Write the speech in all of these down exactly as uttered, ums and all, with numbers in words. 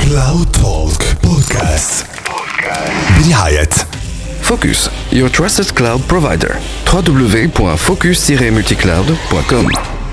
Cloud Talk Podcast برعاية Focus, your trusted cloud provider. w w w point focus tiret multicloud point com.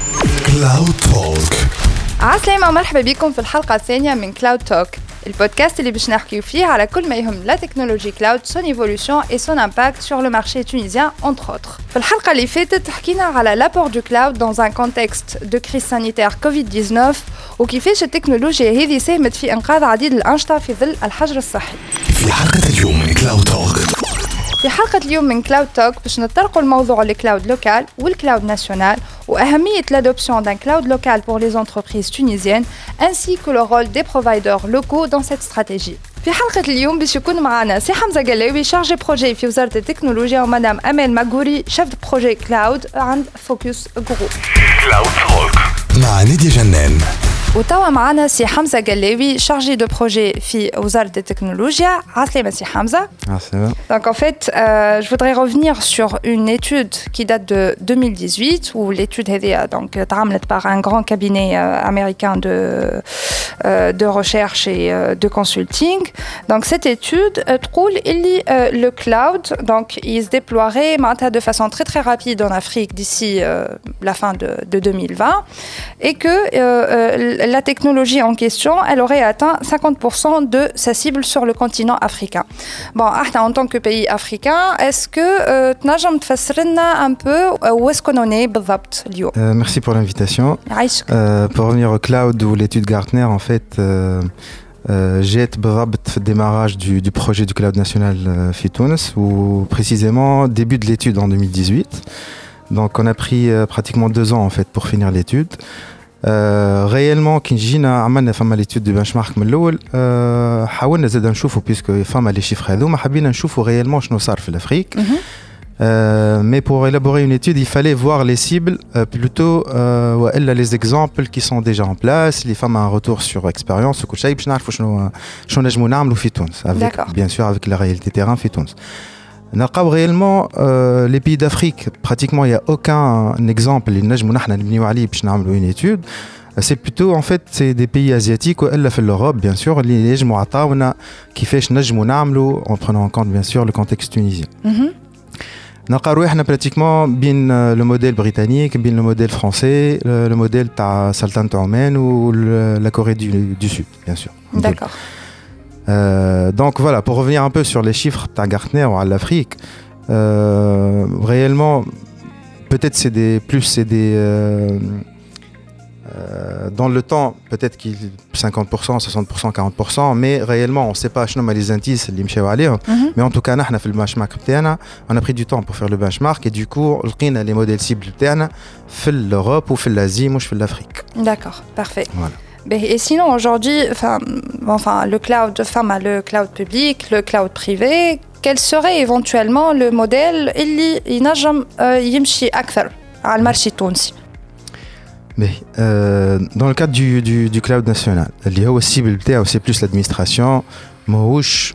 Cloud Talk. عسلامة ومرحبا بكم في الحلقة الثانية من كلاود توك، البودكاست اللي باش نحكيو فيه على كل ما يهم لا تكنولوجي كلاود، son évolution et son impact sur le marché tunisien entre autres. في الحلقة اللي فاتت حكينا على l'apport du cloud dans un contexte de crise sanitaire كوفيد تسعة عشر وكيفاش التكنولوجيا هذه ساهمت في إنقاذ عديد الأنشطة في ظل الحجر الصحي. في حلقة اليوم من كلاود توك في حلقة اليوم من كلاود توك باش نطرقوا الموضوع الكلاود لوكال والكلاود ناسيونال وأهمية l'adoption d'un cloud local pour les entreprises tunisiennes ainsi que le rôle des providers locaux dans cette stratégie. في حلقة اليوم باش يكون معنا سي حمزة قلاوي شارجي بروجي في وزارة التكنولوجيا ومدام أمال ماغوري شيف بروجي كلاود عند فوكس جروب. كلاود توك مع نادية جنان. وتوا معنا سي حمزة قلاوي شارجي دو بروجي في وزارة التكنولوجيا. عسلامة سي حمزة. عسلامة. Donc en fait, euh, je voudrais revenir sur une étude qui date de deux mille dix-huit où l'étude est donc تعملت par un grand cabinet euh, américain de euh, de recherche et euh, de consulting. Donc cette étude euh, تقول اللي euh, le cloud donc il se déploierait de façon très très rapide en Afrique d'ici euh, la fin de, de deux mille vingt et que euh, euh, la technologie en question, elle aurait atteint cinquante pour cent de sa cible sur le continent africain. Bon, en tant que pays africain, est-ce que tu peux تفسر لنا un peu où est-ce qu'on en est بالضبط اليوم? Euh, merci pour l'invitation. Euh, pour revenir au cloud ou l'étude Gartner, en fait, euh, euh, j'ai été بالضبط في démarrage du, du projet du cloud national euh, في تونس ou précisément début de l'étude en deux mille dix-huit. Donc on a pris euh, pratiquement deux ans en fait pour finir l'étude. Euh, réellement كي جينا عملنا فما l'étude du benchmark من الأول euh, حاولنا زاد نشوفوا puisque فما les chiffres هذوما حبينا نشوفوا réellement شنو صار في l'Afrique. Euh, mais pour élaborer une étude, il fallait voir les cibles euh, plutôt euh, وإلا les exemples qui sont déjà en place, les femmes un retour sur expérience وكل شيء باش نعرفوا شنو شنو نجموا نعملوا في تونس avec bien sûr avec la réalité terrain في تونس. نلقاو réellement euh, les pays d'Afrique pratiquement il y a aucun exemple اللي نجموا نحنا نبنيو عليه باش نعملوا une étude. C'est plutôt en fait c'est des pays asiatiques وإلا في l'Europe bien sûr اللي يجموا عطاونا كيفاش نجموا نعملوا en prenant en compte bien sûr le contexte tunisien. نلقاو روحنا pratiquement بين le modèle britannique, بين le modèle français, le, le modèle تاع سلطنة عمان ou le, la Corée du, du Sud bien sûr. D'accord. Euh, donc voilà, pour revenir un peu sur les chiffres de Gartner ou à l'Afrique, euh, réellement, peut-être c'est des plus, c'est des euh, euh, dans le temps, peut-être qu'il cinquante pour cent, soixante pour cent, quarante pour cent, mais réellement, on ne sait pas شنو les indices اللي مشاو عليهم. Mais en tout cas, نحنا في البنشمارك بتاعنا, on a pris du temps pour faire le benchmark et du coup, لقينا les modèles cibles بتاعنا في l'Europe ou في l'Asie, مش في l'Afrique. D'accord, parfait. Voilà. Et sinon, aujourd'hui, enfin, enfin, le cloud, enfin, le cloud public, le cloud privé, quel serait éventuellement le modèle اللي ينجم يمشي أكثر على المارشي التونسي؟ Mais euh, dans le cadre du, du, du cloud national, اللي هو السيبل بتاعه c'est plus l'administration, ماهوش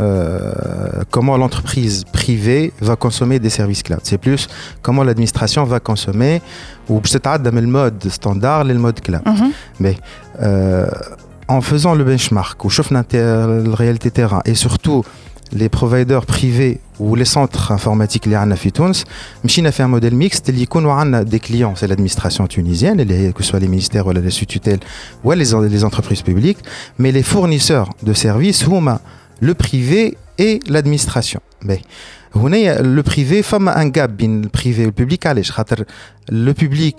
euh, comment l'entreprise privée va consommer des services cloud. C'est plus comment l'administration va consommer ou بتتعدى من المود standard للمود cloud. Mm-hmm. Mais euh, en faisant le benchmark, où شفنا la réalité terrain et surtout les providers privés ou les centres informatiques اللي عندنا في تونس مشينا في un modèle mixte اللي يكونوا عندنا des clients, c'est l'administration tunisienne, اللي que ce soit les ministères ou les sous-tutelles ou les, les entreprises publiques, mais les fournisseurs de services هما le privé et l'administration. Mais هنا le privé فما un gap بين le privé et le public علاش خاطر le public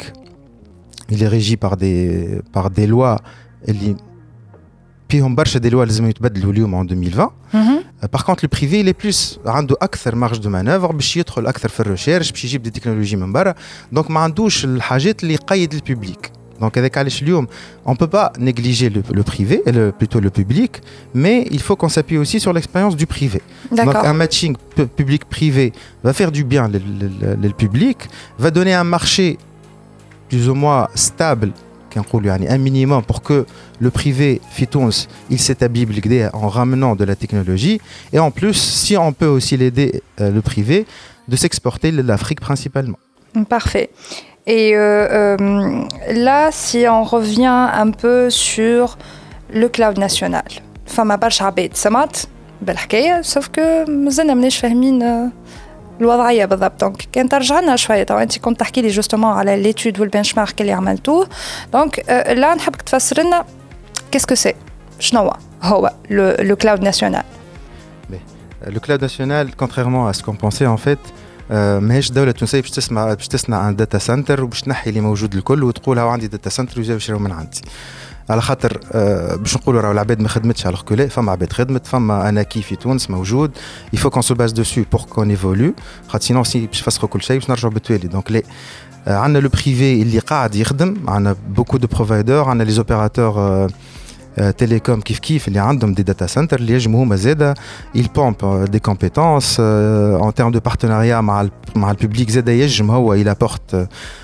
il est régi par des par des lois اللي فيهم برشا دي لوا لازم يتبدلوا اليوم en deux mille vingt. Mm-hmm. Par contre le privé il est plus عنده اكثر marge de manœuvre باش يدخل اكثر في الريشيرش باش يجيب دي تكنولوجي من برا دونك ما عندوش الحاجات اللي يقيد الببليك. Donc هذاك علاش اليوم on peut pas négliger le, le privé et le, plutôt le public, mais il faut qu'on s'appuie aussi sur l'expérience du privé. D'accord. Donc un matching public-privé va faire du bien le, le, le, le public, va donner un marché plus ou moins stable, un minimum pour que le privé في تونس il s'établit en ramenant de la technologie, et en plus si on peut aussi l'aider euh, le privé de s'exporter l'Afrique principalement. Parfait. Et euh, euh, là, si on revient un peu sur le cloud national, فما برشا عباد سمعت بالحكايه سوف كو مازلنا ماناش فاهمين الوضعيه بالضبط. دونك كان ترجع لنا شويه تو انت كنت تحكي لي جوستومون على ليتود والبنش مارك اللي عملتوه. دونك لا نحبك تفسر لنا كيسكو سي شنو هو لو كلاود ناسيونال. Le cloud national, contrairement à ce qu'on pensait en fait, ماهيش دولة تونسية باش تسمع باش تصنع عن داتا سنتر وباش تنحي اللي موجود الكل وتقول هاو عندي داتا سنتر ويجيو يشريو من عندي. على خاطر باش نقولوا راهو العباد ما خدمتش على الكل، فما عباد خدمت، فما انا كي في تونس موجود. il faut qu'on se base dessus pour qu'on évolue. خاطر سينو سي باش نفسخوا كل شيء باش نرجعوا بالتوالي. دونك لي عندنا لو بريفي اللي قاعد يخدم، عندنا بوكو دو بروفايدور، عندنا لي زوبيراتور télécom كيف كيف اللي عندهم دي داتا سنتر اللي يجموا هما زاده il pompe des compétences en termes de partenariat مع مع الببليك زاده يجم هو il apporte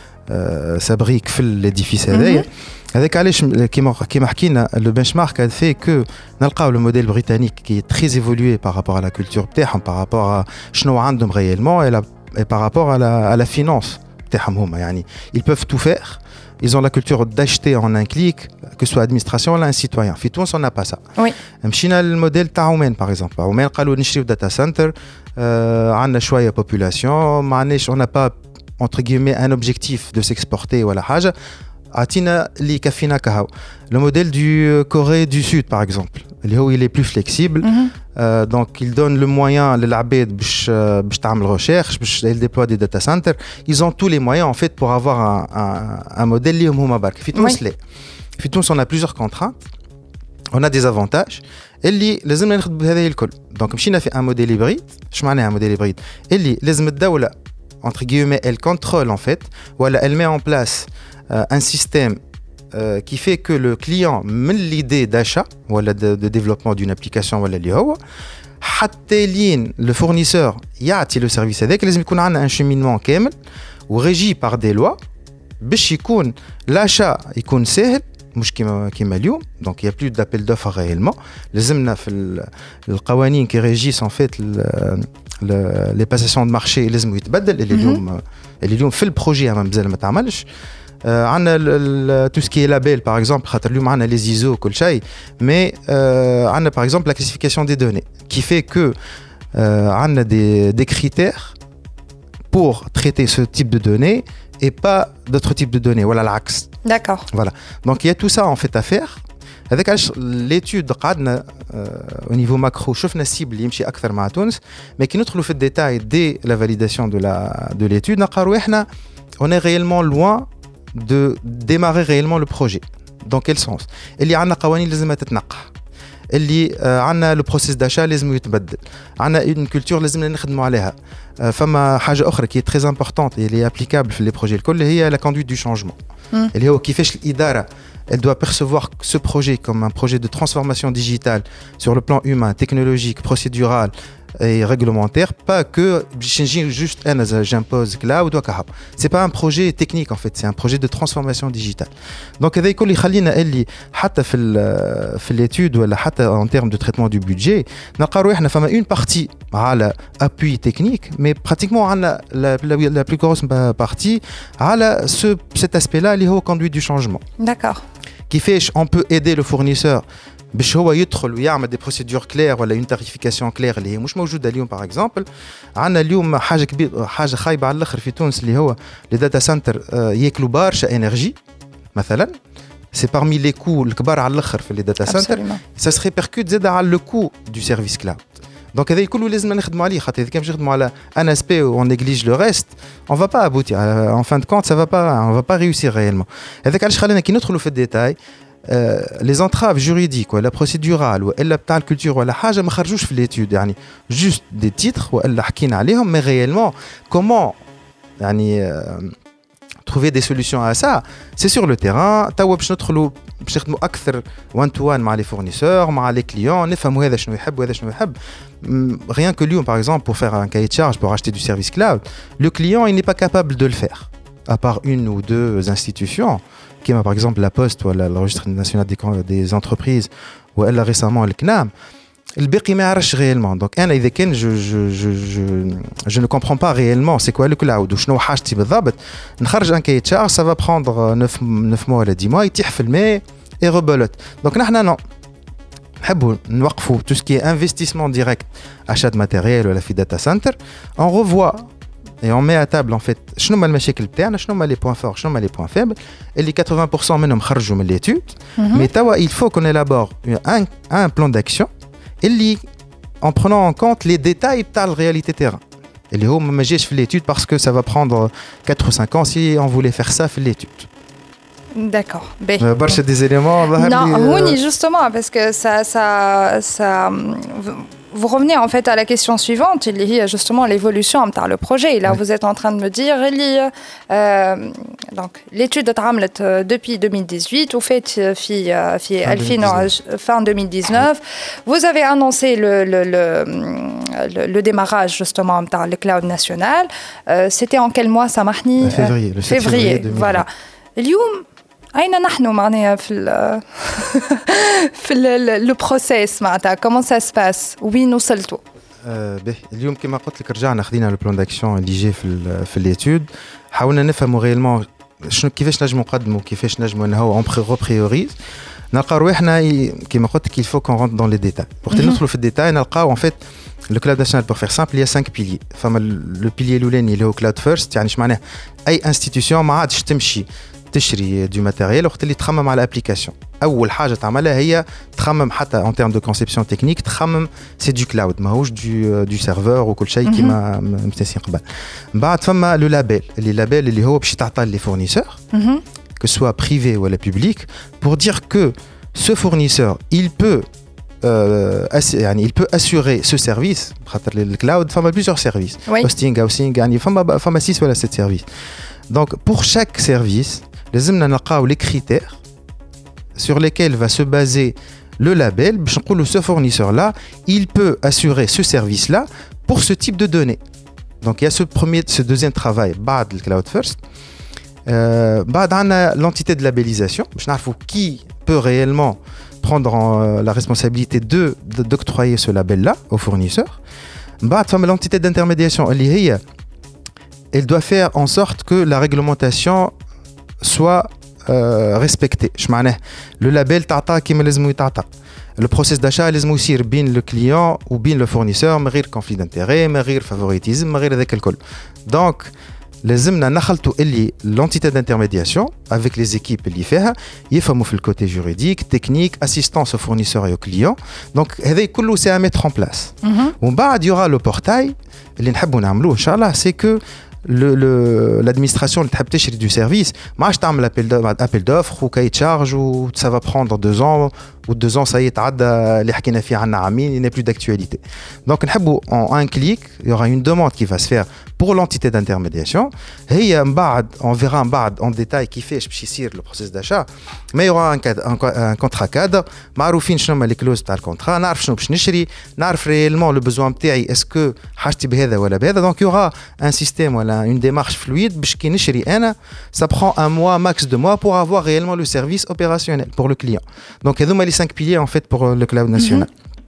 sa brique في الاديفيس هذايا. هذاك علاش كيما كيما حكينا لو بنش مارك هذا في كو نلقاو لو موديل بريطانيك كي تري ايفولوي بارابور على لا كولتور تاعهم بارابور شنو عندهم ريالمون et par rapport à la à la finance تاعهم هما. يعني ils peuvent tout faire. Ils ont la culture d'acheter en un clic, que ce soit administration ou un citoyen. في تونس on n'a pas ça. Oui. مشينا الموديل تاع عمان par exemple. عمان قالوا نشريو داتا سنتر، عندنا شويه population، ما عندناش on n'a pas entre guillemets un objectif de s'exporter ولا حاجه. عطينا اللي يكفينا كهو. Le modèle du Corée du Sud par exemple. اللي هو il est plus flexible. Mm-hmm. Euh, donc il donne le moyen للعباد باش باش تعمل recherche باش il déploie des data centers. Ils ont tous les moyens en fait pour avoir un un, un modèle اللي هما برك. في تونس لا. في تونس on a plusieurs contraintes. On a des avantages اللي لازمنا ناخذ بهذه الكل. دونك مشينا في un modèle hybride. اش معناها un modèle hybride؟ اللي لازم الدولة entre guillemets elle contrôle en fait ولا elle met en place euh, un système Euh, qui fait que le client من l'idée d'achat ou de, de développement d'une application ولا اللي هو حتى لين le fournisseur يعطي le service هذاك لازم يكون عندنا un cheminement كامل وrégi par des lois باش يكون l'achat يكون سهل مش كيما كيما اليوم. donc il y a plus d'appel d'offres réellement. لازمنا في القوانين qui régissent en fait le, les passations de marché لازم يتبدل اللي اليوم اللي اليوم في البروجي مازال ما تعملش. عندنا tout ce qui est label par exemple خاطر اليوم عندنا les I S O كل شيء mais عندنا par exemple la classification des données qui fait que عندنا des des critères pour traiter ce type de données et pas d'autres types de données voilà العكس. D'accord. Voilà. Donc il y a tout ça en fait à faire. هذاك علاش l'étude قعدنا au niveau macro شفنا السيبل اللي يمشي اكثر مع تونس mais كي ندخلوا في الديتاي dès la validation de la de l'étude نلقاو احنا on est réellement loin de démarrer réellement le projet. Dans quel sens? اللي عندنا قوانين لازم تتنقح، اللي عندنا لو بروسيس داشا لازم يتبدل، عندنا اون كولتور لازم نخدموا عليها. فما حاجه اخرى كي تري امبورطونت اللي ابليكابل في لي بروجي الكل هي لا كوندويت دو شانجمون اللي هو كيفاش الاداره elle doit percevoir ce projet comme un projet de transformation digitale sur le plan humain, technologique, procédural et réglementaire, pas que juste j'impose cloud ou كهو. C'est pas un projet technique en fait, c'est un projet de transformation digitale. Donc هذا يكون يخلينا اللي حتى في في l'étude ولا حتى en termes de traitement du budget نلقاو احنا فما une partie على appui technique mais pratiquement عندنا la, la, la plus grosse partie على ce cet aspect-là اللي هو conduite du changement. D'accord. كيفاش on peut aider le fournisseur باش هو يدخل ويعمل دي بروسيدور كلير ولا اون تاريفيكاسيون كلير اللي هي مش موجوده اليوم. باغ اكزومبل عندنا اليوم حاجه كبيره حاجه خايبه على الاخر في تونس اللي هو لي داتا سنتر ياكلوا برشا انرجي مثلا. سي بارمي لي كو الكبار على الاخر في لي داتا سنتر سا سي ريبيركوت زاد على لو كو دو سيرفيس كلاود. دونك هذا كله لازم نخدموا عليه خاطر اذا كان باش نخدموا على ان اسبي و اون نيجليج لو ريست اون فا با ابوتي ان فان دو كونت سا فا با اون فا با ريوسير ريالمون. هذاك علاش خلينا كي ندخلوا في الديتاي les entraves juridiques ولا procédurales ولا بتاع الكولتور ولا حاجه ما خرجوش في l'étude يعني juste des titres ولا حكينا عليهم mais réellement comment يعني trouver des solutions à ça c'est sur le terrain. توا باش ندخلوا باش نخدموا اكثر one to one مع les fournisseurs مع les clients نفهموا هذا شنو يحب وهذا شنو يحب. rien que اليوم par exemple pour faire un cahier de charge pour acheter du service cloud le client il n'est pas capable de le faire à part une ou deux institutions qui par exemple la Poste ou le registre national des, des entreprises ou elle récemment le C N A M. الباقي ما يعرفش réellement. donc انا اذا كان je je je je je ne comprends pas réellement c'est quoi le cloud وشنو حاجتي بالضبط نخرج un cahier de charge ça va prendre neuf mois ولا dix mois يتيح في الماء et rebelote. donc نحنا non نحبوا نوقفوا tout ce qui est investissement direct, achat de matériel ou la fi data center, on revoit et on met à table en fait شنو هما المشاكل بتاعنا, شنو هما les points forts, شنو هما les points faibles, et les quatre-vingts pour cent منهم خرجوا من l'étude. Mm-hmm. Mais tawa, il faut qu'on élabore un, un plan d'action اللي en prenant en compte les détails de la réalité terrain. اللي هو ما جاش في l'étude parce que ça va prendre quatre ou cinq ans si on voulait faire ça في l'étude. D'accord. Euh, bon. des éléments. Non, oui, justement, parce que ça, ça, ça, vous revenez en fait à la question suivante, il y a justement l'évolution de le projet. Et là, oui. Vous êtes en train de me dire, il y a, euh, donc l'étude de Tramlet depuis deux mille dix-huit, vous faites fin deux mille dix-neuf. Vous avez annoncé le, le, le, le, le démarrage justement de le cloud national. Euh, C'était en quel mois ça marche? Février. Le février, voilà. اليوم أين نحن معناها في ال في ال process معناتها comment ça se passe وين وصلتوا؟ باهي اليوم كما قلت لك رجعنا خدينا لو بلان داكسيون اللي جاي في في ليتود, حاولنا نفهموا ريالمون شنو كيفاش نجموا نقدموا كيفاش نجموا نهو اون بريوريز, نلقاو رواحنا كما قلت لك il faut qu'on rentre dans les détails. وقت ندخلوا في الديتاي نلقاو en fait le cloud national pour faire simple il y a cinq piliers. فما le pilier الاولاني اللي هو cloud first, يعني اش معناه اي انستيتيوشن ما عادش تمشي تشري دو ماتيريال وقت اللي تخمم على الابليكاسيون. اول حاجه تعملها هي تخمم حتى ان تيرم دو كونسيبسيون تكنيك, تخمم سي دو كلاود ماهوش دو دو سيرفور وكل شيء كيما متنسين قبل. من بعد فما لو لابيل اللي لابيل اللي هو باش تعطى لي فورنيسور que soit privé ou public pour dire que ce fournisseur il peut euh, ass- يعني il peut assurer ce service. خاطر le cloud فما plusieurs services, oui. Hosting, housing, يعني فما فما six ولا sept services. Donc pour chaque service لازمنا نلقاو les critères sur lesquels va se baser le label باش نقولوا ce fournisseur là il peut assurer ce service là pour ce type de données. Donc il y a ce premier ce deuxième travail بعد le cloud first. Euh, بعد عندنا l'entité de labellisation باش نعرفوا qui peut réellement prendre en, euh, la responsabilité de, de d'octroyer ce label là au fournisseur. بعد فما l'entité d'intermédiation اللي هي elle doit faire en sorte que la réglementation soit euh, respectée. Je معناه le label تعطى كيما لازم يتعطى. Le process d'achat لازم يصير بين le client ou بين le fournisseur من غير conflit d'intérêt, من غير favoritisme, من غير هذاك الكل. Donc لازمنا نخلطوا اللي l'entité d'intermédiation avec les équipes اللي فيها يفهموا في الكوتي juridique, technique, assistance aux fournisseurs et aux clients. Donc هذا كله c'est à mettre en place. Mm-hmm. ومن بعد y aura le portail اللي نحبوا نعملوه إن شاء الله, c'est que le, le, l'administration اللي تحب تشري du service ما عادش تعمل appel d'offres و cahier de charge و ça va prendre deux ans ou deux ans ça y est تعدى اللي حكينا فيه عنا عامين, il n'est plus d'actualité. Donc نحبوا en un clic il y aura une demande qui va se faire pour l'entité d'intermédiation. هي من بعد on verra من بعد en détail كيفاش باش يصير le process d'achat, mais il y aura un, cadre, un, un contrat cadre معروفين شنو هما les clauses تاع الكونترا, نعرف شنو باش نشري, نعرف réellement le besoin بتاعي est-ce que حاجتي بهذا ولا بهذا. Donc il y aura un système ولا une démarche fluide باش كي نشري انا ça prend un mois max deux mois pour avoir réellement le service opérationnel pour le client. Donc هذوما les cinq piliers en fait pour le cloud national.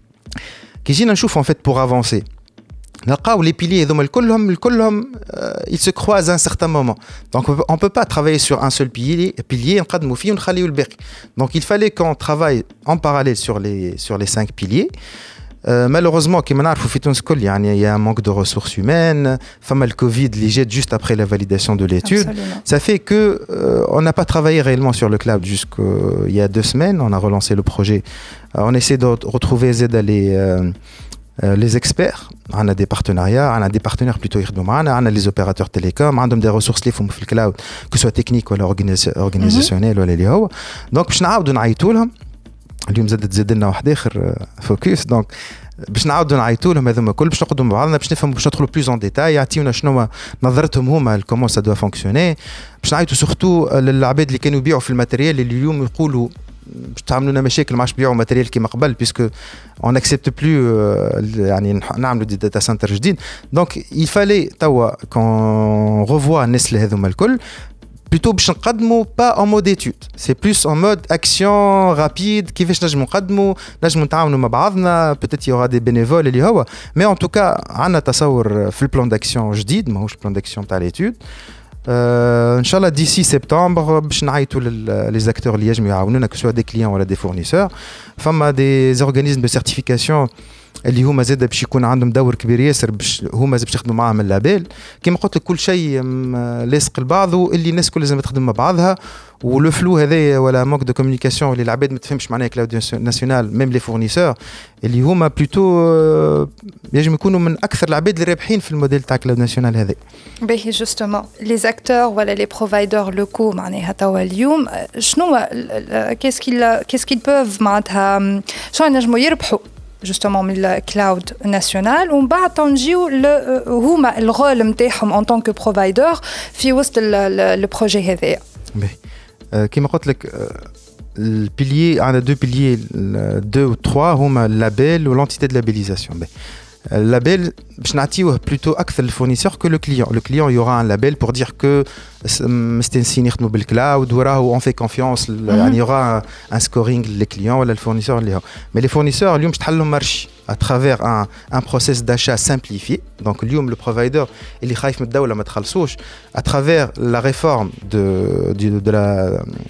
كي جينا نشوف en fait pour avancer نلقاو les piliers هذوما الكلهم الكلهم ils se croisent à un certain moment. Donc on peut pas travailler sur un seul pilier pilier نقدموا فيه ونخليو الباقي. Donc il fallait qu'on travaille en parallèle sur les sur les cinq piliers. Euh, malheureusement كما نعرفوا في تونس كل يعني il y a un manque de ressources humaines, فما le Covid اللي جات juste après la validation de l'étude. Absolument. Ça fait que euh, on n'a pas travaillé réellement sur le cloud jusqu'il y a deux semaines. On a relancé le projet. Euh, on essaie de retrouver Z les euh, euh, les experts. On a des partenariats, on a des partenaires plutôt يخدموا معنا, on a les opérateurs télécoms, عندهم des ressources اللي يفهموا في الكلاود que soit technique ولا organisationnel ولا اللي هو. Donc باش نعاودوا نعيطوا لهم اليوم زادت زاد لنا واحد اخر فوكس. دونك باش نعاودوا نعيطوا لهم هذوما كل باش نقعدوا مع بعضنا باش نفهموا باش ندخلوا بلوز اون ديتاي, يعطيونا شنو نظرتهم هما كومون سا دوا فونكسيوني. باش نعيطوا سورتو للعباد اللي كانوا يبيعوا في الماتيريال اللي اليوم يقولوا باش تعملوا لنا مشاكل ما عادش بيعوا ماتيريال كيما قبل بيسكو اون اكسبت بلو يعني نعملوا دي داتا سنتر جديد. دونك il fallait توا كون ريفوا الناس اللي هذوما الكل plutôt باش نقدموا pas en mode étude, c'est plus en mode action rapide. كيفاش نجموا نقدموا نجموا نتعاونوا مع بعضنا, peut-être il y aura des bénévoles اللي هو, mais en tout cas عندنا تصور في البلان d'action جديد ماهوش البلان d'action تاع l'étude. Euh, Inch'Allah, d'ici septembre, باش نعيطوا les acteurs اللي يجموا يعاونونا, que ce soit des clients ou des fournisseurs. فما des organismes de certification اللي هما زاد باش يكون عندهم دور كبير ياسر باش هما زاد باش يخدموا معاهم اللابيل. كيما قلت لك كل شيء لاصق لبعضه, واللي الناس كل لازم تخدم مع بعضها. ولو فلو هذايا ولا مونك دو كومونيكاسيون اللي العباد ما تفهمش معناها كلاود ناسيونال ميم لي فورنيسور اللي هما بلوتو يجب يكونوا من اكثر العباد اللي رابحين في الموديل تاع كلاود ناسيونال هذا. باهي جوستومون لي زاكتور ولا لي بروفايدور لوكو معناها توا اليوم شنو كيس كيل كيس كيل بوف معناتها شنو نجموا يربحوا justement من الكلاود ناسيونال ومن بعد تنجيو هما الرول نتاعهم ان طون كو بروفايدور في وسط البروجي هذايا. كيما قلت لك البيليي عندنا دو بيليي دو و تروا هما اللابيل والانتيتي دو لابيليزاسيون. اللابيل باش نعطيوه بلوتو اكثر للفورنيسور كو لو كليون. لو كليون يورا ان لابيل بور دير كو مستنسين يخدموا بالكلاود وراهو اون في كونفيونس, يعني يورا ان سكورينغ لي كليون ولا الفورنيسور اللي هو. مي لي فورنيسور اليوم باش تحلهم مارشي à travers un un process d'achat simplifié. Donc اليوم le provider اللي خايف من الدولة ما تخلصوش à travers la réforme de de de la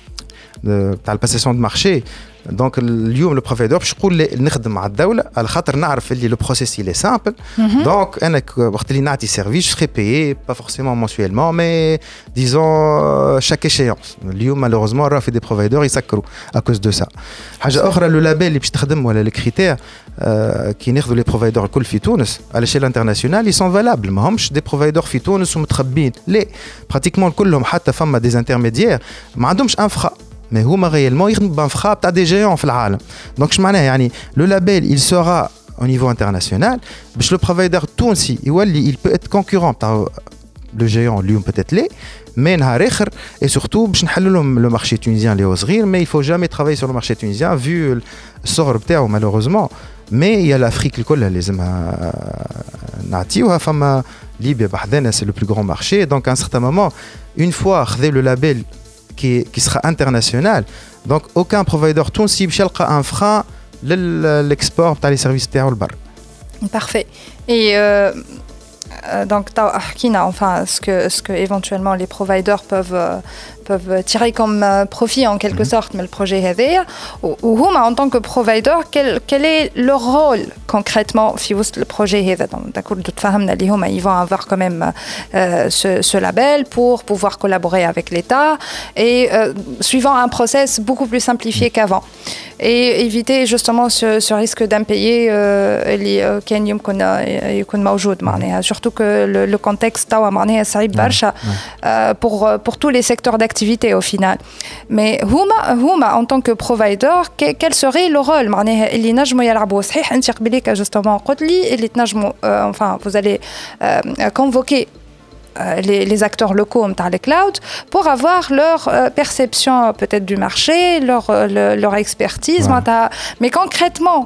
de تاع الباسيسيون دو مارشي. دونك اليوم لو بروفايدور باش يقول نخدم مع الدوله على خاطر نعرف اللي لو بروسيس لي سامبل. دونك انا وقت اللي نعطي سيرفيس سري بايي با فورسيمون مونسويلمون مي ديزون شاك ايشيونس. اليوم مالوروزمون راه في دي بروفايدور يسكروا اكوز دو سا. حاجه اخرى لو لابيل اللي باش تخدم ولا لي كريتير كي ناخذوا لي بروفايدور الكل في تونس على شيل انترناسيونال يسون فالابل, ما همش دي بروفايدور في تونس ومتخبين, لا براتيكمون كلهم حتى فما دي انترميديير ما عندهمش انفرا mais هما réellement يخدموا بانفرا تاع دي جيون في العالم. دونك اش معناها يعني لو لابيل il sera au niveau international باش لو بروفايدر التونسي يولي il peut être concurrent تاع لو جيون اليوم peut-être لي مي نهار اخر et surtout باش نحلوا لهم لو مارشي تونيزيان اللي هو صغير. mais il faut jamais travailler sur le marché tunisien vu الصغر بتاعو malheureusement. mais il y a l'Afrique الكل لازمها نعطيوها. فما ليبيا بحذنا c'est le plus grand marché. donc à un certain moment une fois خذ le label qui, qui sera international, donc aucun provider tunisien باش يلقى un frein l'export تاع les services تاعو لبر. Parfait. Et euh, donc حكينا enfin ce que ce que éventuellement les providers peuvent euh, peuvent tirer comme euh, profit en quelque mm-hmm. sorte mais le projet هذايا وهما en tant que provider quel quel est leur rôle concrètement في وسط le projet هذا. donc d'accord تفهمنا اللي هما ils vont avoir quand même euh, ce ce label pour pouvoir collaborer avec l'État et euh, suivant un process beaucoup plus simplifié qu'avant et éviter justement ce, ce risque d'impayé اللي كان يمكن يكون موجود معناها surtout que le, le contexte توا معناها صعيب برشا euh, pour pour tous les secteurs d'activité au final. mais هما هما en tant que provider quel serait le rôle معناها اللي نجموا يلعبوا. صحيح انت قبليك justement قلت لي اللي تنجموا euh, enfin vous allez euh, convoquer Les, les acteurs locaux dans les clouds pour avoir leur euh, perception peut-être du marché, leur, leur, leur expertise. Ouais. Mais concrètement,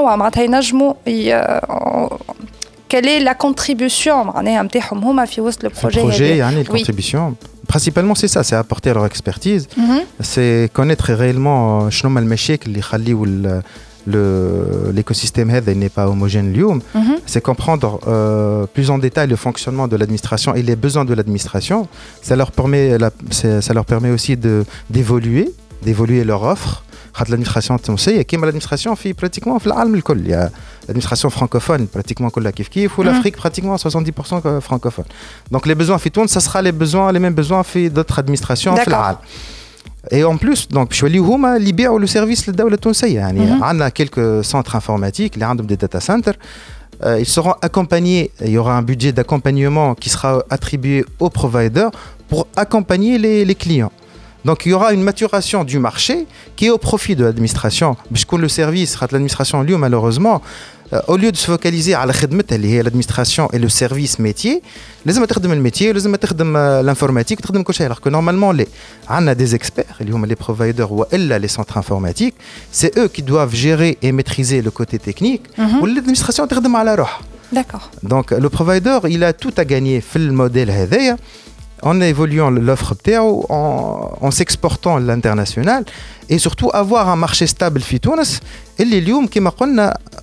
quelle est la contribution le projet, le projet يعني oui. contribution principalement c'est ça, c'est apporter leur expertise. Mm-hmm. C'est connaître réellement شنو المشاكل اللي يخليوا Le, l'écosystème هذا n'est pas homogène اليوم. Mm-hmm. c'est comprendre euh, plus en détail le fonctionnement de l'administration et les besoins de l'administration. Ça leur permet, la, ça leur permet aussi de, d'évoluer, d'évoluer leur offre. l'administration التونسية كيما l'administration في pratiquement في العالم الكل. Il y a l'administration francophone pratiquement كلها كيف كيف و l'Afrique pratiquement soixante-dix pour cent francophone. donc les besoins في تونس ça sera les besoins les mêmes besoins في d'autres administrations في العالم. Et en plus, donc, je suis هما اللي يبيعوا le service للدولة التونسية. يعني عندنا quelques centres informatiques اللي عندهم des data centers. Euh, ils seront accompagnés. Il y aura un budget d'accompagnement qui sera attribué aux providers pour accompagner les, les clients. Donc, il y aura une maturation du marché qui est au profit de l'administration. Puisque le service, l'administration, lui, malheureusement, au lieu de se focaliser على خدمتها اللي هي l'administration et le service métier, لازم تخدم الميتي ولازم تخدم l'informatique وتخدم كل شيء. Alors que normalement les عندنا des experts اللي هما les providers والا les centres informatiques, c'est eux qui doivent gérer et maîtriser le côté technique و l'administration تخدم على روحها. D'accord. Donc le provider, il a tout à gagner في الموديل هذايا en évoluant l'offre بتاعو, en, en s'exportant à l'international et surtout avoir un marché stable في تونس اللي اليوم كما قلنا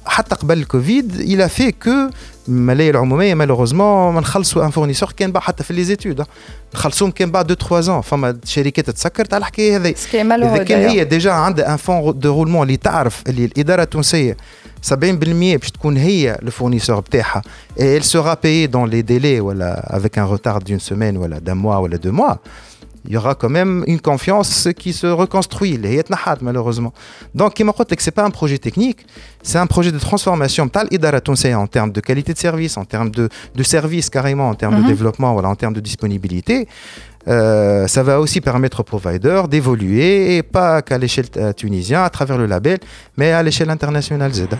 حتى قبل الكوفيد il a fait que الملاهي العموميه مالوغوزمون ما نخلصوا ان فورنيسور كان بقى حتى في لي زيتود نخلصوهم كان بعد اثنين ثلاثة ans فما شركات تسكرت على الحكايه هذه. اذا كان هي ديجا عندها ان فون دو رولمون اللي تعرف اللي الاداره التونسيه سبعين بالمية باش تكون هي لو فورنيسور بتاعها et elle sera payée dans les délais ولا avec un retard d'une semaine ولا d'un mois ولا deux mois, il y aura quand même une confiance qui se reconstruit. اللي هي تنحات malheureusement. Donc كما قلت لك c'est pas un projet technique, c'est un projet de transformation تاع الإدارة التونسية en termes de qualité de service, en termes de de service carrément, en termes mm-hmm. de développement, voilà, en termes de disponibilité. Euh, ça va aussi permettre aux providers d'évoluer et pas qu'à l'échelle euh, tunisienne à travers le label, mais à l'échelle internationale Z.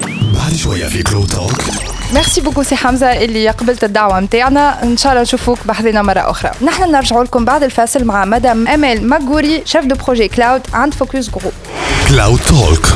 ميرسي بوكو سي حمزه اللي قبلت الدعوه نتاعنا. ان شاء الله نشوفوك بحذنا مره اخرى. نحن نرجعوا لكم بعد الفاصل مع مدام امال ماغوري شيف دو بروجي كلاود عند فوكس جروب. كلاود توك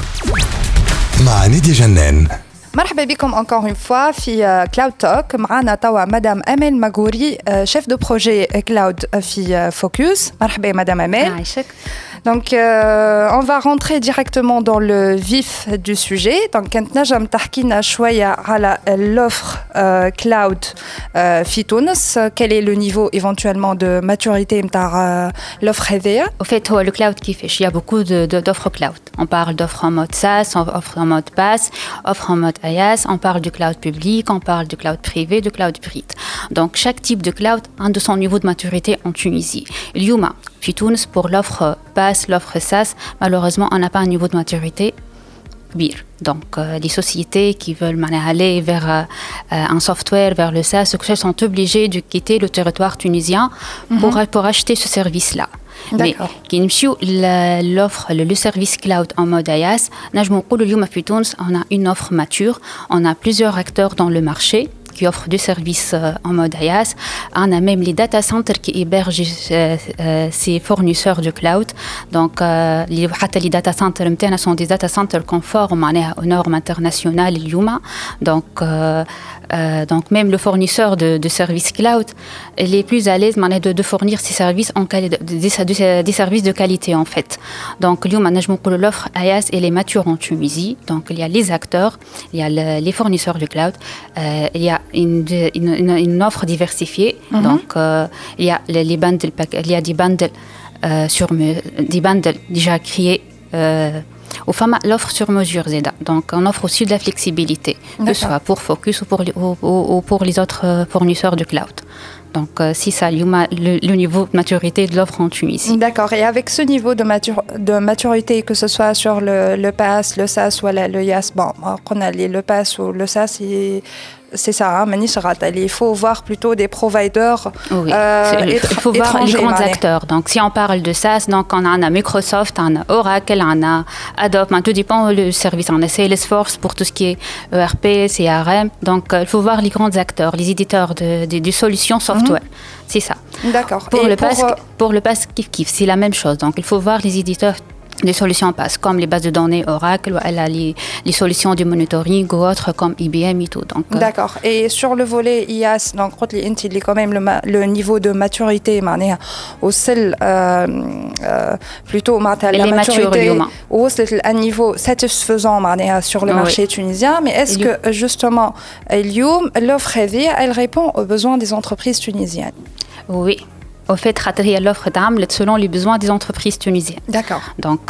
مع نادية جنان. مرحبا بكم encore une fois في كلاود توك. معنا توا مدام امال ماغوري شيف دو بروجي كلاود في فوكس. مرحبا مدام امال. عايشك. Donc, euh, on va rentrer directement dans le vif du sujet. Donc, كنت نجم تحكينا شوية على l'offre euh, cloud euh, في تونس. Quel est le niveau éventuellement de maturité نتاع uh, l'offre هذيا؟ Au fait, هو le cloud كيفاش؟ Il y a beaucoup de, de, d'offres cloud. On parle d'offres en mode SaaS, offre en mode PaaS, offre en mode IaaS. On parle du cloud public, on parle du cloud privé, du cloud hybride. Donc, chaque type de cloud a de son niveau de maturité en Tunisie. اليوم في تونس pour l'offre PaaS, l'offre SaaS, malheureusement, on n'a pas un niveau de maturité كبير. Donc, euh, les sociétés qui veulent aller vers euh, un software, vers le SaaS, sont obligées de quitter le territoire tunisien mm-hmm. pour, pour acheter ce service-là. D'accord. Mais l'offre, le, le service cloud en mode IaaS, on a une offre mature, on a plusieurs acteurs dans le marché qui offrent des services en mode IaaS. On a même les data centers qui hébergent euh, euh, ces fournisseurs de cloud. Donc, euh, les, les data centers sont des data centers conformes aux normes internationales. Donc, euh, euh, donc, même le fournisseur de, de services cloud, il est plus à l'aise de, de fournir ces services en quali- des, des, des services de qualité en fait. Donc, l'offre IaaS elle est mature en Tunisie. Donc, il y a les acteurs, il y a le, les fournisseurs de cloud, euh, il y a Une, une, une offre diversifiée. Mm-hmm. Donc, euh, il y a les, les bundles, il y a des bundles euh, sur des bundles déjà créés. Euh, Au fama l'offre sur mesure Zeda. Donc, on offre aussi de la flexibilité, D'accord. que ce soit pour Focus ou pour les, ou, ou, ou pour les autres fournisseurs de cloud. Donc, euh, si ça, le, le niveau de maturité de l'offre en Tunisie. D'accord. Et avec ce niveau de, matur- de maturité, que ce soit sur le, le PaaS, le SaaS ou le, le IaaS, bon, on a les, le PaaS ou le SaaS, et c'est ça, hein, il faut voir plutôt des providers oui, euh, il faut voir les grands acteurs. Donc, si on parle de SaaS, donc on a Microsoft, on a Oracle, on a Adobe, tout dépend du service. On a Salesforce pour tout ce qui est E R P, C R M. Donc, il faut voir les grands acteurs, les éditeurs de, de, de solutions software. Mm-hmm. C'est ça. D'accord. Pour Et le pour, PaaS, euh... pour le PaaS, kiff kiff, c'est la même chose. Donc, il faut voir les éditeurs des solutions PaaS, comme les bases de données Oracle, elle a les, les solutions de monitoring ou autres comme I B M et tout. Donc, euh... D'accord. Et sur le volet IaaS, donc il est quand même le, ma- le niveau de maturité, au seul euh, euh, plutôt la les maturité, au un niveau satisfaisant sur le marché oui. tunisien. Mais est-ce que justement, l'offre elle répond aux besoins des entreprises tunisiennes? Oui. Au fait, l'offre d'âme selon les besoins des entreprises tunisiennes. D'accord. Donc,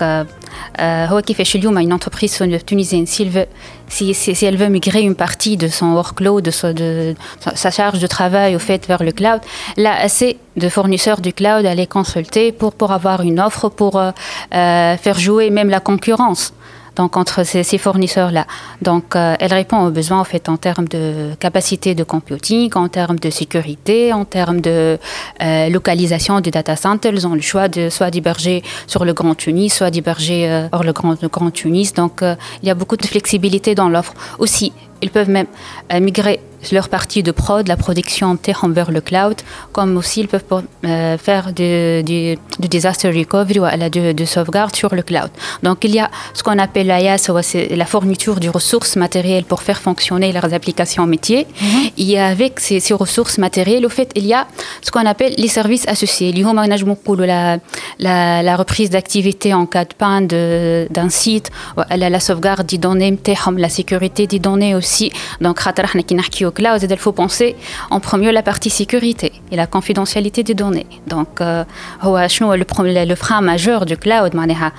euh, euh, une entreprise tunisienne, si elle, veut, si, si, si elle veut migrer une partie de son workload, de, so, de, de sa charge de travail au fait vers le cloud, là, assez de fournisseurs du cloud à les consulter pour, pour avoir une offre, pour euh, euh, faire jouer même la concurrence. Donc, entre ces, ces fournisseurs-là. Donc, euh, elle répond aux besoins en, fait, en termes de capacité de computing, en termes de sécurité, en termes de euh, localisation du data center. Ils ont le choix de soit d'héberger sur le Grand Tunis, soit d'héberger euh, hors le Grand, le Grand Tunis. Donc, euh, il y a beaucoup de flexibilité dans l'offre. Aussi, ils peuvent même euh, migrer leur partie de prod, la production vers le cloud, comme aussi ils peuvent euh, faire du, du, du disaster recovery ou de, de sauvegarde sur le cloud. Donc il y a ce qu'on appelle l'A I A S, c'est la fourniture de ressources matérielles pour faire fonctionner leurs applications métiers. Mm-hmm. Et avec ces, ces ressources matérielles, au fait, il y a ce qu'on appelle les services associés. La, la, la reprise d'activité en cas de panne de, d'un site, la, la sauvegarde des données, la sécurité des données aussi. Donc, au cloud, il faut penser en premier la partie sécurité et la confidentialité des données. Donc, euh, le, le frein majeur du cloud,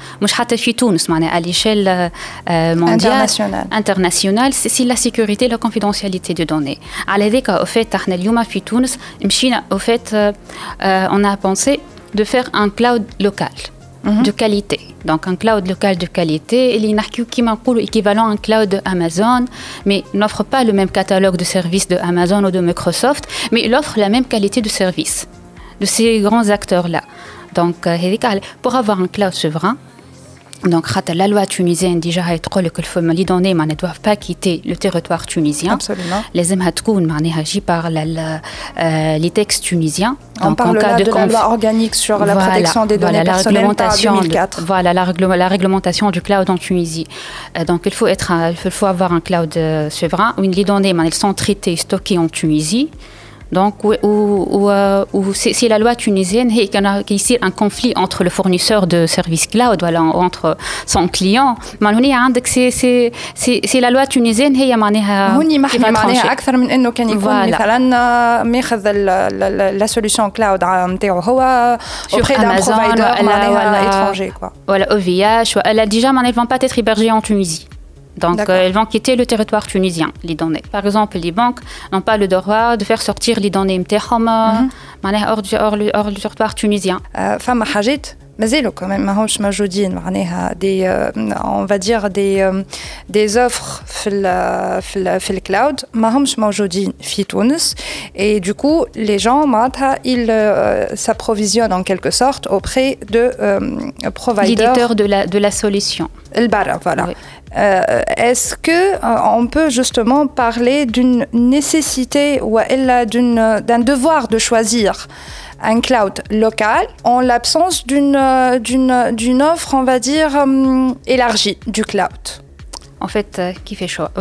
à l'échelle euh, mondiale, internationale, internationale c'est, c'est la sécurité et la confidentialité des données. Au fait, au fait euh, on a pensé de faire un cloud local. Mm-hmm. De qualité. Donc un cloud local de qualité, il est équivalent à un cloud de Amazon, mais n'offre pas le même catalogue de services de Amazon ou de Microsoft, mais il offre la même qualité de service de ces grands acteurs-là. Donc pour avoir un cloud souverain, donc la loi tunisienne déjà que les données ne doivent pas quitter le territoire tunisien. Absolument. Les émats agi par la, la, euh, les textes tunisiens. On donc, parle en cas là de, de conf... la loi organique sur la voilà, protection des données voilà, personnelles par deux mille quatre. De, voilà la, régl- la réglementation du cloud en Tunisie. Euh, donc il faut être, un, il faut avoir un cloud euh, souverain où les données elles sont traitées, stockées en Tunisie. Donc, où, où, où c'est, c'est la loi tunisienne qui ici un conflit entre le fournisseur de services cloud, voilà, entre son client. C'est, c'est, c'est, c'est la loi tunisienne qui va trancher. أكثر من إنه كان يكون مثلاً ماخذ la solution cloud نتاعو هو auprès d'un provider معناها étranger quoi. Voilà, O V H. Elle a déjà, mais elles vont pas être hébergées en Tunisie. Donc, euh, elles vont quitter le territoire tunisien, les données. Par exemple, les banques n'ont pas le droit de faire sortir les données mm-hmm. hors, du, hors, hors du territoire tunisien. فما حاجات مازالوا quand même ماهوش موجودين معناها des on va dire des des offres في ال في ال في الكلاود ماهمش موجودين في تونس et du coup les gens معناتها ils euh, s'approvisionnent en quelque sorte auprès de euh, providers l'éditeur de la de la solution البرا voilà oui. Euh, est-ce que euh, on peut justement parler d'une nécessité ou d'une, d'un devoir de choisir un cloud local en l'absence d'une, d'une, d'une offre, on va dire, euh, élargie du cloud? En fait, qui fait choix?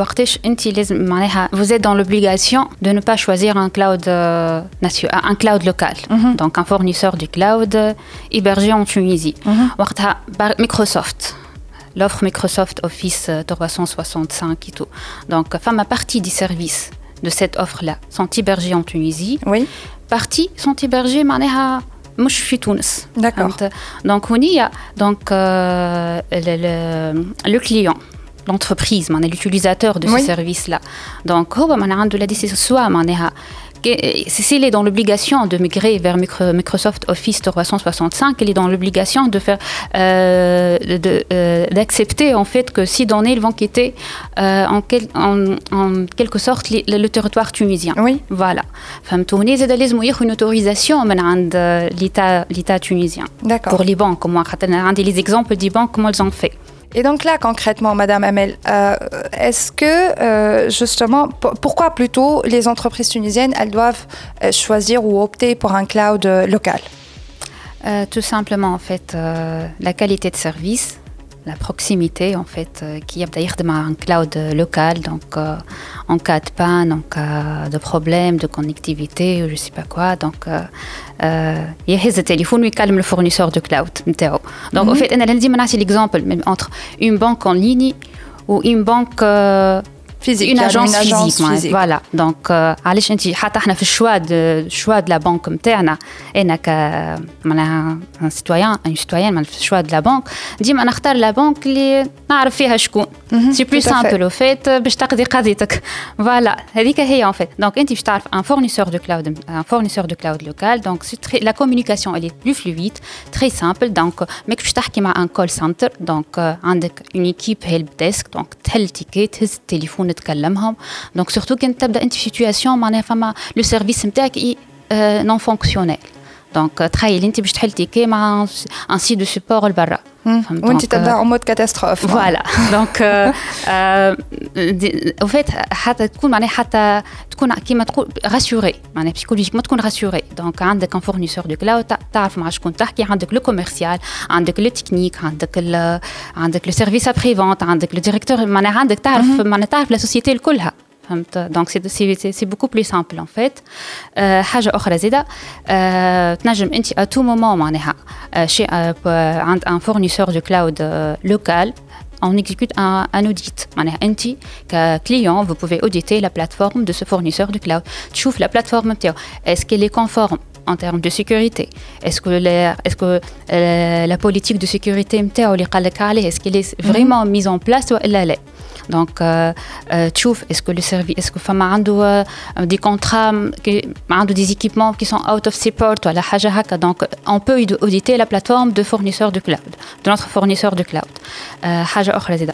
Vous êtes dans l'obligation de ne pas choisir un cloud, euh, un cloud local, mm-hmm. donc un fournisseur du cloud hébergé en Tunisie. Mm-hmm. Microsoft. L'offre Microsoft Office trois cent soixante-cinq et tout. Donc, ma partie des services de cette offre-là sont hébergés en Tunisie. Oui. Partie sont hébergés, معناها مش في تونس. D'accord. Donc, on y a donc euh, le, le, le client, l'entreprise, l'utilisateur de ce oui. service-là. Donc, هو معناها عنده la décision soit معناها s'il est dans l'obligation de migrer vers Microsoft Office trois cent soixante-cinq, il est dans l'obligation de faire, euh, de, euh, d'accepter en fait que ces données vont quitter euh, en, quel, en, en quelque sorte le, le territoire tunisien. Oui. Voilà. فهمتوني زاد لازم ياخذ une autorisation من عند l'État, l'État tunisien. D'accord. Pour les banques, moi, عندي les exemples des banques comment elles ont fait. Et donc là, concrètement, Madame Amel, euh, est-ce que, euh, justement, p- pourquoi plutôt les entreprises tunisiennes, elles doivent euh, choisir ou opter pour un cloud euh, local? euh, Tout simplement, en fait, euh, la qualité de service, la proximité, en fait, euh, qui a d'ailleurs un cloud local, donc euh, en cas de panne, en cas de problème, de connectivité, ou je ne sais pas quoi, donc... Euh, il y a le téléphone qui calme le fournisseur de cloud. Donc, mm-hmm. en fait, on a l'exemple entre une banque en ligne ou une banque euh, physique, une agence, une agence physique, physique. Voilà. Donc, علاش انت حتى احنا في الشوا de choix de la banque نتاعنا انا ك معناها un citoyen une citoyenne في الشوا de la banque ديما نختار لا بنك اللي نعرف فيها شكون سي بلو سامبل او فيت باش تقضي قضيتك فوالا هذيك هي en fait. Donc انت باش تعرف un fournisseur de cloud un fournisseur de cloud local, donc très, la communication elle est plus fluide, très simple. Donc ماك باش تحكي مع un call center, donc عندك une équipe help desk, donc تحل تيكي تهز التليفون نتكلمهم. Donc surtout كنت تبدا انت في situation معناها فما لو سيرفيس نتاعك نون فونكسيونيل. Donc تخيل انت باش تحل تيكي مع un site de support لبرا وانت تبدا en mode catastrophe. Voilà. Donc au fait حتى تكون معناها حتى تكون كيما تقول rassuré معناها psychologiquement تكون rassuré. Donc عندك un fournisseur de cloud تعرف مع شكون تحكي عندك le commercial عندك le technique عندك ال عندك le service après vente عندك le directeur معناها عندك تعرف معناها تعرف la société الكلها. Donc c'est, c'est, c'est beaucoup plus simple en fait. Euh, حاجة أخرى زيادة euh, تنجم أنت à tout moment معناها chez عند un fournisseur de cloud euh, local on exécute un, un audit. معناها أنت كclient vous pouvez auditer la plateforme de ce fournisseur de cloud. تشوف la plateforme نتاعو est-ce qu'elle est conforme en termes de sécurité. Est-ce que, les, est-ce que euh, la politique de sécurité نتاعو اللي قالك عليه est-ce qu'elle est vraiment mise en place ولا لا. Donc, euh, euh, تشوف est-ce que le service, est-ce que فما عنده euh, des contrats, عنده des équipements qui sont out of support ولا حاجة هكا. Donc, on peut auditer la plateforme de fournisseur de cloud, de notre fournisseur de cloud. Euh, حاجة أخرى زيادة.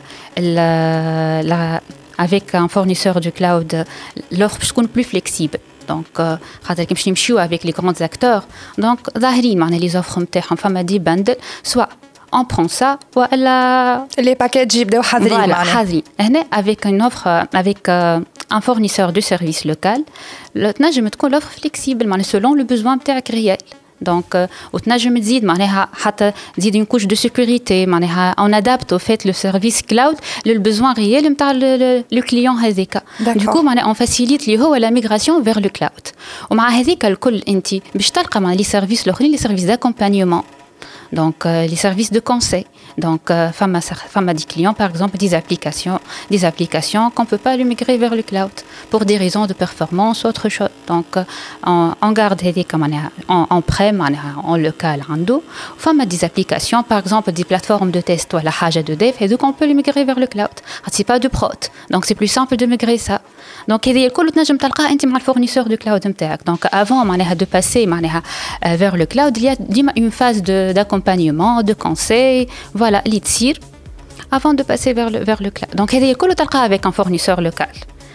Avec un fournisseur de cloud, l'offre peut être plus flexible. Donc, خاطر كي باش نمشيو avec les grands acteurs. Donc, ظاهرين معناها les offres نتاعهم فما دي bundle, soit on prend ça ولا les packages يبداو حاضرين voilà, حاضرين هنا avec une offre avec euh, un fournisseur de service local تنجم تكون l'offre flexible معناها selon le besoin نتاعك réel. Donc وتنجم تزيد معناها حتى تزيد une couche de sécurité معناها on adapte au fait le service cloud le besoin réel نتاع le client هذاك. Du coup معناها on facilite اللي هو la migration vers le cloud. ومع هذاك الكل انت باش تلقى مع les services الاخرين les services d'accompagnement. Donc, euh, les services de conseil. Donc, euh, femme, à, femme à des clients, par exemple, des applications, des applications qu'on ne peut pas les migrer vers le cloud pour des raisons de performance ou autre chose. Donc, euh, on, on garde en, en prem, en local, en dos. Femme à des applications, par exemple, des plateformes de test ou la haja de dev, et donc on peut les migrer vers le cloud. C'est pas de prod. Donc, c'est plus simple de migrer ça. Donc, il y a le fournisseur de cloud. Donc, avant de passer vers le cloud, il y a une phase d'accompagnement, de conseil, voilà, l'itsir, avant de passer vers le, vers le cloud. Donc, il y a avec un fournisseur local.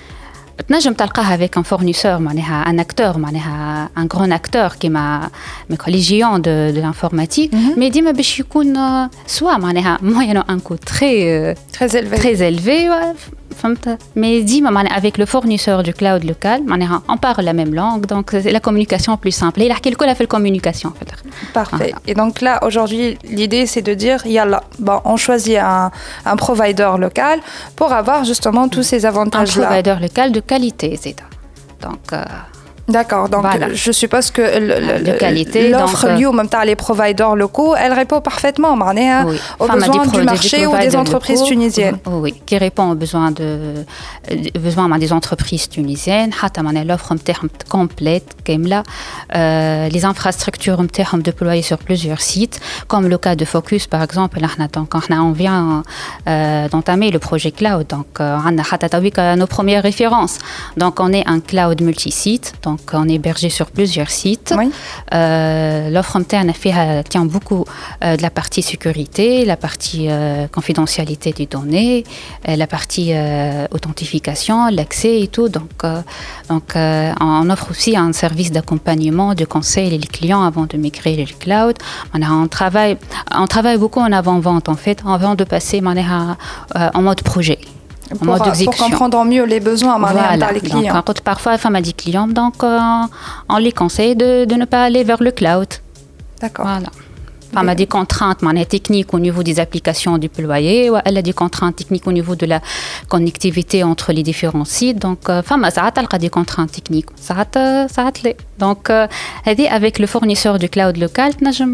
تنجم تلقاها avec un fournisseur معناها un acteur معناها un grand acteur كيما les géants de, de l'informatique mm-hmm. mais ديما باش يكون soit معناها moyennant un coût très très élevé très élevé فهمت mais ديما معناها avec le fournisseur du cloud local معناها on parle la même langue donc c'est la communication plus simple il يحكي الكل في الcommunication parfait et donc là aujourd'hui l'idée c'est de dire yalla bon on choisit un un provider local pour avoir justement tous ces avantages là un provider local de qualité زيدا donc euh, D'accord, donc voilà. Je suppose que le, le, de qualité, l'offre اليوم نتاع les providers locaux, elle répond parfaitement معناها oui. aux enfin, besoins du marché ou des entreprises locaux, tunisiennes. Oui, qui répond aux besoins de besoins des entreprises tunisiennes. حتى معناها l'offre نتاعهم complète كاملة. Euh, les infrastructures نتاعهم déployées sur plusieurs sites, comme le cas de Focus par exemple. احنا donc احنا on vient euh, d'entamer le projet cloud, donc عندنا حتى تويك nos premières références. Donc on est un cloud multi-site, donc on est hébergé sur plusieurs sites. Oui. Euh, l'offre interne tient beaucoup euh, de la partie sécurité, la partie euh, confidentialité des données, euh, la partie euh, authentification, l'accès et tout. Donc, euh, donc euh, on offre aussi un service d'accompagnement, de conseil les clients avant de migrer le cloud. On, a, on, travaille, on travaille beaucoup en avant-vente en fait, avant de passer euh, en mode projet. Pour, pour comprendre mieux les besoins voilà. par les clients. Donc, parfois, femme a dit clients, donc euh, on les conseille de, de ne pas aller vers le cloud. D'accord. Voilà. Femme a des contraintes techniques au niveau des applications déployées, ou elle a des contraintes techniques au niveau de la connectivité entre les différents sites. Donc, femme a des contraintes techniques. Ça a Donc, euh, avec le fournisseur du cloud local,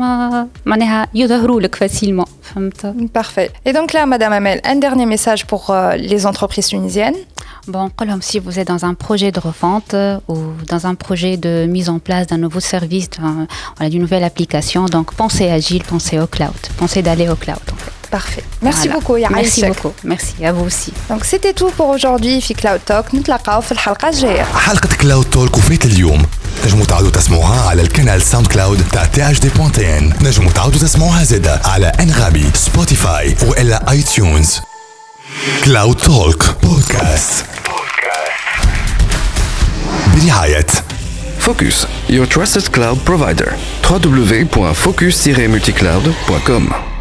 يظهروا facilement. Parfait. Et donc là, Madame Amel, un dernier message pour euh, les entreprises tunisiennes. Bon, comme si vous êtes dans un projet de refonte euh, ou dans un projet de mise en place d'un nouveau service, d'une nouvelle application, donc pensez agile, pensez au cloud, pensez d'aller au cloud. En fait. Parfait. Merci voilà. beaucoup, Yaha. Merci beaucoup. Merci à vous aussi. Donc c'était tout pour aujourd'hui في Cloud Talk. نتلاقاو في الحلقة الجاية. حلقة Cloud Talk وفات اليوم نجموا تعودوا تسمعوها على القناة ساوند كلاود تاع تي اش دي بوان تي ان. نجموا تعودوا تسمعوها زادا على انغامي، سبوتيفاي والا اي تيونز. كلاود توك بودكاست برعاية Focus, your trusted cloud provider. w w w point focus tiret multicloud point com